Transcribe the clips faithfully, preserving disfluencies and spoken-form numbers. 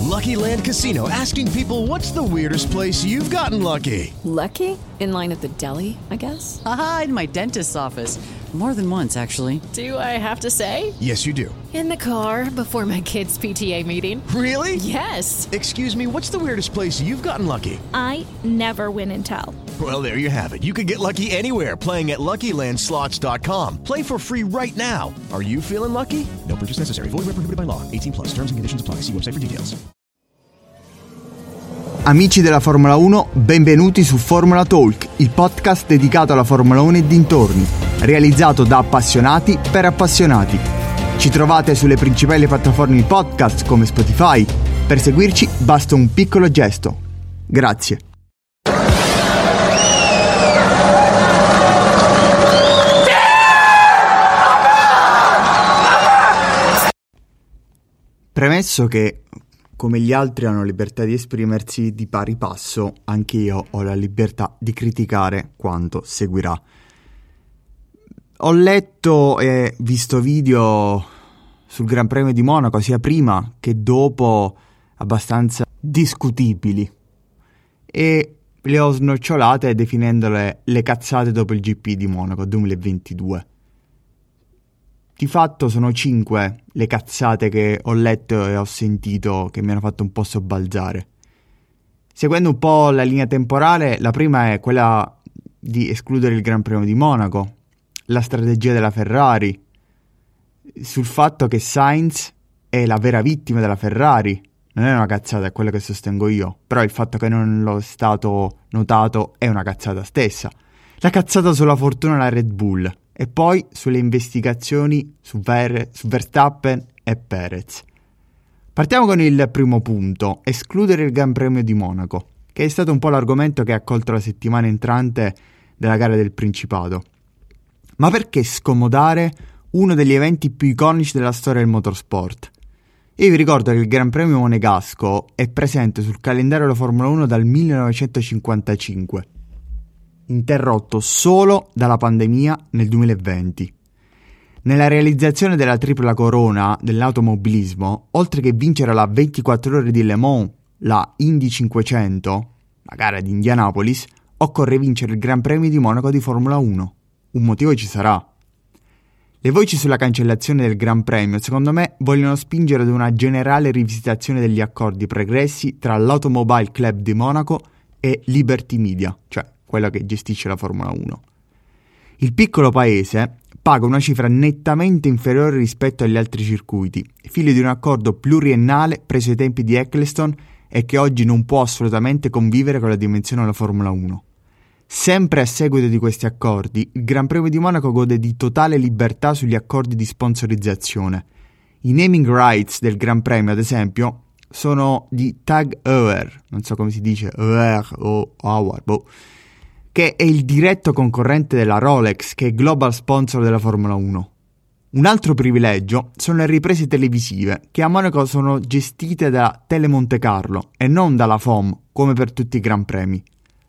Lucky Land Casino, asking people, what's the weirdest place you've gotten lucky? Lucky? In line at the deli, I guess? Aha, in my dentist's office. More than once, actually. Do I have to say? Yes, you do. In the car before my kids' P T A meeting. Really? Yes. Excuse me, what's the weirdest place you've gotten lucky? I never win and tell. Well, there you have it. You can get lucky anywhere, playing at Lucky Land Slots dot com. Play for free right now. Are you feeling lucky? No purchase necessary. Void where prohibited by law. eighteen plus. Terms and conditions apply. See website for details. Amici della Formula uno, benvenuti su Formula Talk, il podcast dedicato alla Formula uno e dintorni, realizzato da appassionati per appassionati. Ci trovate sulle principali piattaforme di podcast come Spotify. Per seguirci basta un piccolo gesto. Grazie. Premesso che, come gli altri hanno libertà di esprimersi di pari passo, anche io ho la libertà di criticare quanto seguirà. Ho letto e visto video sul Gran Premio di Monaco sia prima che dopo abbastanza discutibili e le ho snocciolate definendole le cazzate dopo il G P di Monaco duemilaventidue. Di fatto sono cinque le cazzate che ho letto e ho sentito che mi hanno fatto un po' sobbalzare. Seguendo un po' la linea temporale, la prima è quella di escludere il Gran Premio di Monaco, la strategia della Ferrari, sul fatto che Sainz è la vera vittima della Ferrari. Non è una cazzata, è quello che sostengo io, però il fatto che non lo è stato notato è una cazzata stessa. La cazzata sulla fortuna della Red Bull. E poi sulle investigazioni su, Ver- su Verstappen e Perez. Partiamo con il primo punto, escludere il Gran Premio di Monaco, che è stato un po' l'argomento che ha accolto la settimana entrante della gara del Principato. Ma perché scomodare uno degli eventi più iconici della storia del motorsport? Io vi ricordo che il Gran Premio Monegasco è presente sul calendario della Formula uno dal millenovecentocinquantacinque. Interrotto solo dalla pandemia nel duemilaventi. Nella realizzazione della tripla corona dell'automobilismo, oltre che vincere la ventiquattro ore di Le Mans, la Indy cinquecento, la gara di Indianapolis, occorre vincere il Gran Premio di Monaco di Formula uno. Un motivo ci sarà. Le voci sulla cancellazione del Gran Premio, secondo me, vogliono spingere ad una generale rivisitazione degli accordi pregressi tra l'Automobile Club di Monaco e Liberty Media, cioè quella che gestisce la Formula uno. Il piccolo paese paga una cifra nettamente inferiore rispetto agli altri circuiti, figlio di un accordo pluriennale preso ai tempi di Eccleston e che oggi non può assolutamente convivere con la dimensione della Formula uno. Sempre a seguito di questi accordi, il Gran Premio di Monaco gode di totale libertà sugli accordi di sponsorizzazione. I naming rights del Gran Premio, ad esempio, sono di Tag Heuer, non so come si dice, Heuer o Hauer, boh, che è il diretto concorrente della Rolex, che è global sponsor della Formula uno. Un altro privilegio sono le riprese televisive, che a Monaco sono gestite da Telemonte Carlo e non dalla F O M, come per tutti i Gran Premi.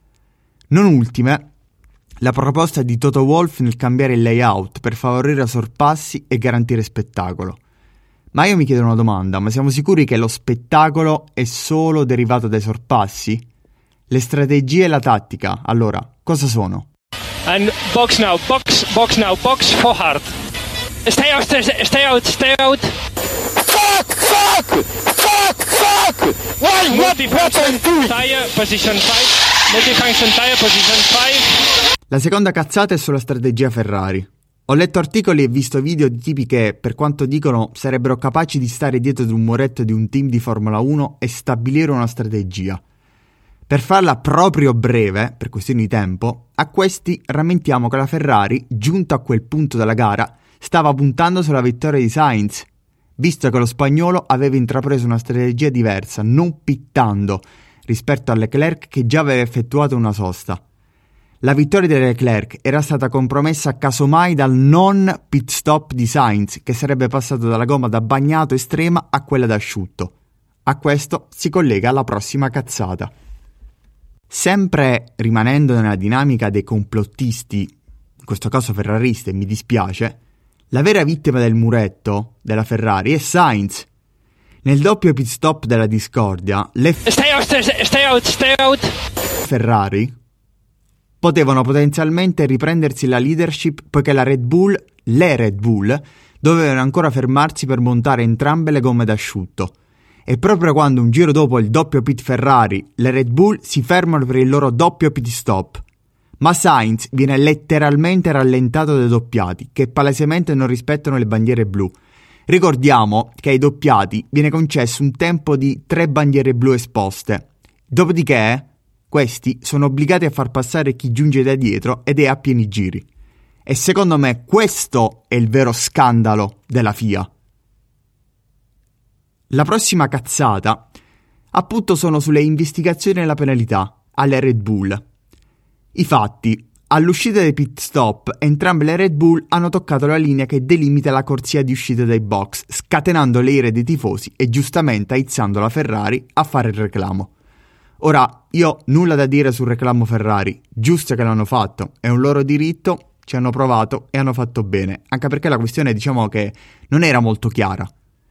Non ultime, la proposta di Toto Wolff nel cambiare il layout per favorire sorpassi e garantire spettacolo. Ma io mi chiedo una domanda, ma siamo sicuri che lo spettacolo è solo derivato dai sorpassi? Le strategie e la tattica, allora, cosa sono? And box now, box, box now, box for hard. Stay out, stay out, stay out. Fuck, fuck, fuck, fuck. Why, what, what I'm doing? Tire, position five. Multifunction tire, position five. La seconda cazzata è sulla strategia Ferrari. Ho letto articoli e visto video di tipi che, per quanto dicono, sarebbero capaci di stare dietro ad un muretto di un team di Formula uno e stabilire una strategia. Per farla proprio breve, per questioni di tempo, a questi rammentiamo che la Ferrari, giunto a quel punto della gara, stava puntando sulla vittoria di Sainz, visto che lo spagnolo aveva intrapreso una strategia diversa, non pittando, rispetto a Leclerc che già aveva effettuato una sosta. La vittoria di Leclerc era stata compromessa casomai dal non pit stop di Sainz, che sarebbe passato dalla gomma da bagnato estrema a quella da asciutto. A questo si collega la prossima cazzata. Sempre rimanendo nella dinamica dei complottisti, in questo caso ferraristi, e mi dispiace, la vera vittima del muretto della Ferrari è Sainz. Nel doppio pit stop della discordia, le f- Stay out, stay out, stay out. Ferrari potevano potenzialmente riprendersi la leadership, poiché la Red Bull, le Red Bull, dovevano ancora fermarsi per montare entrambe le gomme d'asciutto. E proprio quando un giro dopo il doppio pit Ferrari, le Red Bull si fermano per il loro doppio pit stop. Ma Sainz viene letteralmente rallentato dai doppiati, che palesemente non rispettano le bandiere blu. Ricordiamo che ai doppiati viene concesso un tempo di tre bandiere blu esposte. Dopodiché, questi sono obbligati a far passare chi giunge da dietro ed è a pieni giri. E secondo me questo è il vero scandalo della F I A. La prossima cazzata, appunto, sono sulle investigazioni e la penalità alle Red Bull. I fatti: all'uscita dei pit stop, entrambe le Red Bull hanno toccato la linea che delimita la corsia di uscita dai box, scatenando le ire dei tifosi e giustamente aizzando la Ferrari a fare il reclamo. Ora, io nulla da dire sul reclamo Ferrari, giusto che l'hanno fatto, è un loro diritto, ci hanno provato e hanno fatto bene, anche perché la questione, diciamo, che non era molto chiara.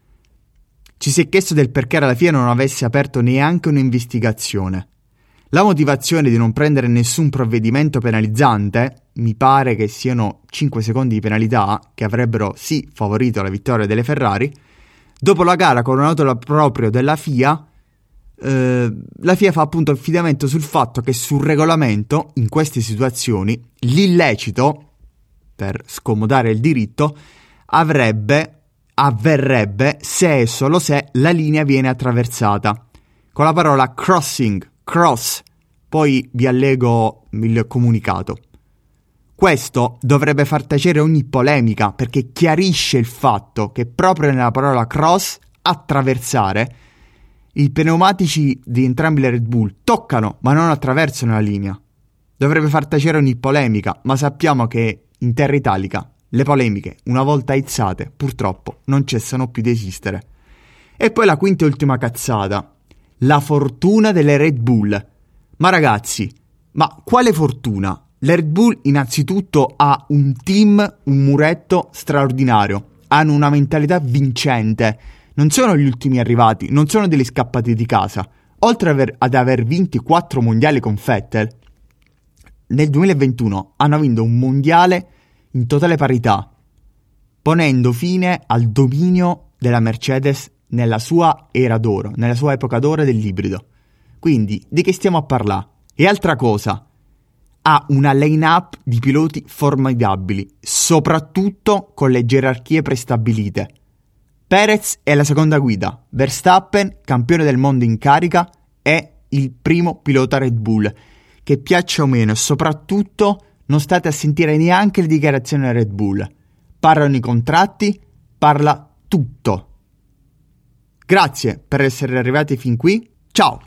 Ci si è chiesto del perché alla F I A non avesse aperto neanche un'investigazione. La motivazione di non prendere nessun provvedimento penalizzante, mi pare che siano cinque secondi di penalità, che avrebbero sì favorito la vittoria delle Ferrari. Dopo la gara con un auto proprio della F I A, eh, la F I A fa appunto affidamento sul fatto che sul regolamento, in queste situazioni, l'illecito, per scomodare il diritto, avrebbe... avverrebbe se e solo se la linea viene attraversata, con la parola crossing, cross, poi vi allego il comunicato. Questo dovrebbe far tacere ogni polemica, perché chiarisce il fatto che proprio nella parola cross, attraversare, i pneumatici di entrambi le Red Bull toccano ma non attraversano la linea. Dovrebbe far tacere ogni polemica, ma sappiamo che in terra italica le polemiche, una volta aizzate, purtroppo non cessano più di esistere. E poi la quinta e ultima cazzata: la fortuna delle Red Bull. Ma ragazzi, ma quale fortuna? La Red Bull innanzitutto ha un team, un muretto straordinario, hanno una mentalità vincente, non sono gli ultimi arrivati, non sono degli scappati di casa. Oltre ad aver, ad aver vinto quattro mondiali con Vettel, nel duemilaventuno hanno vinto un mondiale in totale parità, ponendo fine al dominio della Mercedes nella sua era d'oro, nella sua epoca d'oro dell'ibrido. Quindi, di che stiamo a parlare? E altra cosa, ha una line-up di piloti formidabili, soprattutto con le gerarchie prestabilite. Perez è la seconda guida, Verstappen, campione del mondo in carica, è il primo pilota Red Bull, che piaccia o meno, e soprattutto non state a sentire neanche le dichiarazioni della Red Bull. Parlano i contratti, parla tutto. Grazie per essere arrivati fin qui. Ciao!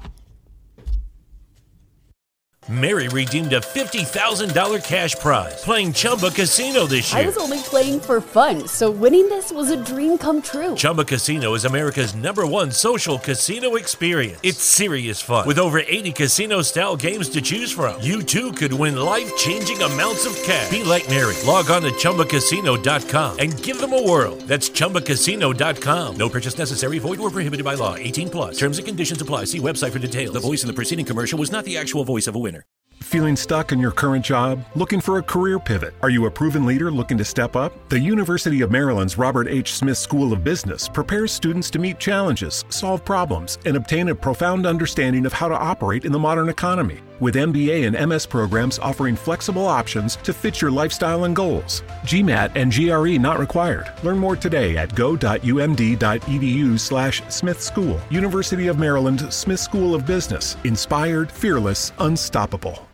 Mary redeemed a fifty thousand dollars cash prize playing Chumba Casino this year. I was only playing for fun, so winning this was a dream come true. Chumba Casino is America's number one social casino experience. It's serious fun. With over eighty casino-style games to choose from, you too could win life-changing amounts of cash. Be like Mary. Log on to Chumba Casino dot com and give them a whirl. That's Chumba Casino dot com. No purchase necessary. Void or prohibited by law. eighteen plus. Terms and conditions apply. See website for details. The voice in the preceding commercial was not the actual voice of a winner. Feeling stuck in your current job? Looking for a career pivot? Are you a proven leader looking to step up? The University of Maryland's Robert H. Smith School of Business prepares students to meet challenges, solve problems, and obtain a profound understanding of how to operate in the modern economy. With M B A and M S programs offering flexible options to fit your lifestyle and goals. GMAT and G R E not required. Learn more today at go.umd.edu slash Smith School. University of Maryland Smith School of Business. Inspired, fearless, unstoppable.